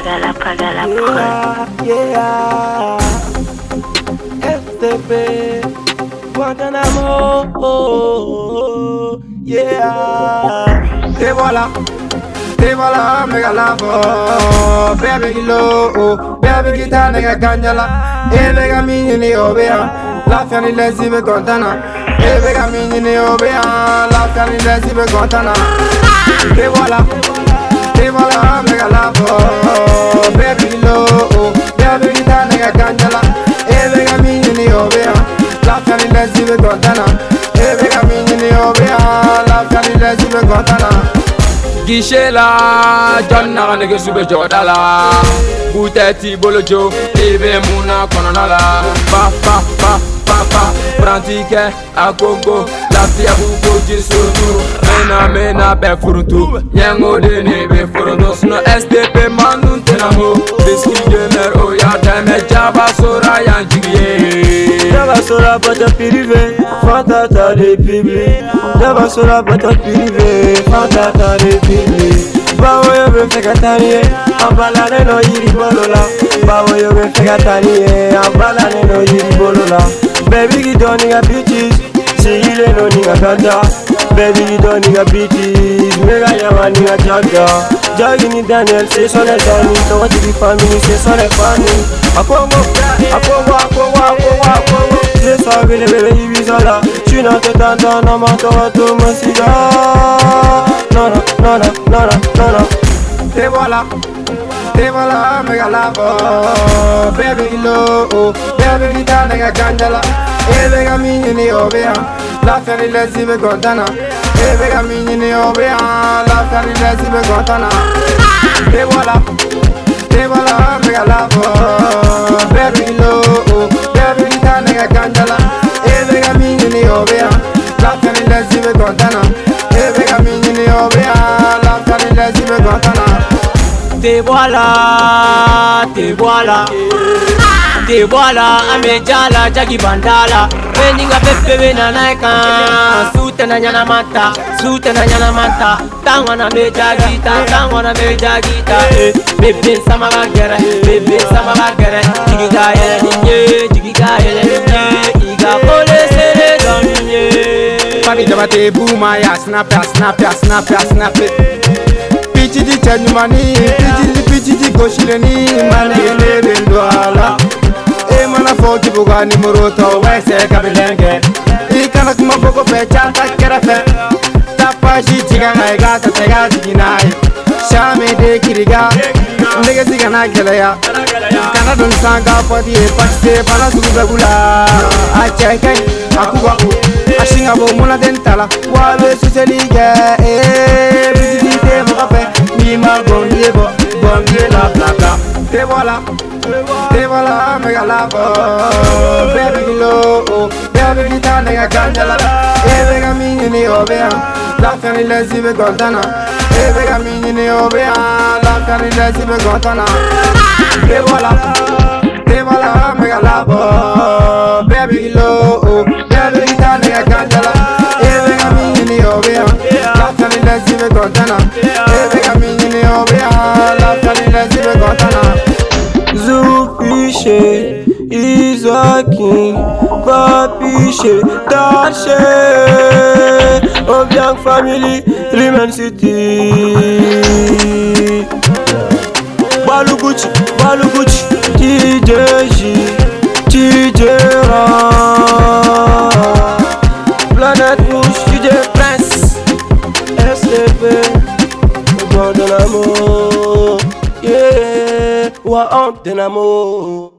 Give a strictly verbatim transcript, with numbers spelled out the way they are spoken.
pagala, pagala, pagala. Yeah, yeah. S T P, Guantanamo, oh, yeah. Te voilà, te voilà, mega lavo. Baby kilo, oh, baby kita nega ganjala. E vega mini ni obea, la fiani lesi be contana. E vega mini ni obea, la fiani lesi be contana. Te voilà, te voilà, mega lavo. Baby kilo, oh, baby kita nega ganjala. E vega mini ni obea, la fiani lesi be contana. E vega mini ni obea, la fiani lesi be contana. Gishela, John na nege sube jodala. Buteti bolojo, ebe muna kononala. Pa pa pa pa pa, prantike a Congo, la fia buko jisotu. Mena mena be furuntu, nyengo de ne be furuntu. Sno S T P manun tenamo, biski gemer oya teme jaba sora yanjigye. Jaba sora bata pirive, fantata de public. Jaba sora bata pirive, fantata de public. Bawo yo be fekatanie, abala ne no yiri bolola. Bawo yo be fekatanie, abala ne no yiri bolola. Baby you don't need a bitches, see you no need a ganda. Baby you don't need a bitches, mega yaman need a jagga. Jogging in Daniel, say son and Danny, don't want to be family, say son and funny. Akongo, akongo, akongo, akongo, akongo. Say so bile bile ibizola, tu n'as te tanda, no matter what to me siga. No no no no no no no no. Te voilà, te voilà, mega lavo. Baby kilo, oh, baby kita nega ganjala. E vega mini ni obea, la fiani lesi be contana. E vega mini ni obea, la fiani lesi be contana. Te voilà, te voilà, mega lavo. Baby kilo, oh, baby kita nega ganjala. E vega mini ni obea, la fiani lesi be contana. E vega mini ni obea, la fiani lesi be contana. Te voilà, te voilà. Te voilà, amejala jagi bandala. Weninga pepe wena naika. Sute na nyana mata, sute na nyana mata. Tangwa na meja gita, tangwa na meja gita. Eh, bebe sama bagere, bebe sama bagere. Jigiga yele ninye, jigiga yele ninye. Iga pole sere dominye. Papi jabate booma ya snap ya snap ya snap ya snap it. Pichi di chanyumani, pichi di pichi di goshileni. Mane ele bendwala. E mana foki buga ni muruto wese kabilenge. Ikana kuma boko pecha takera fe. Tapashi chiga ngai gasa tega jiginai. Shame de kiriga, ndege siga na kelaya. Kana don sanga pati e paste bana sugu begula. Acheke akuba ashinga bo muna dentala. Wabe suselige e bisiti te mokafe. Ni ma gondie bo gondie la bla bla. Te voilà. Te voilà, mega lavo. Baby kilo, oh, baby kita nega ganjala. E vega mini ni obea, la fiani lesi be contana. E vega mini ni obea, la fiani lesi be contana. Te voilà, te voilà, mega lavo. Baby kilo, oh, baby kita nega ganjala. E vega mini ni obea, la fiani lesi be contana. E vega mini ni obea, la fiani lesi be contana. Zupiche, Isaki, Papiche, Dache, Obiang Family, Rimen City. Baluguchi, Baluguchi, T J G, T J Ra, Planet Push, T J Prince, S T P, Guantanamo. Yeah, wa on Dynamo.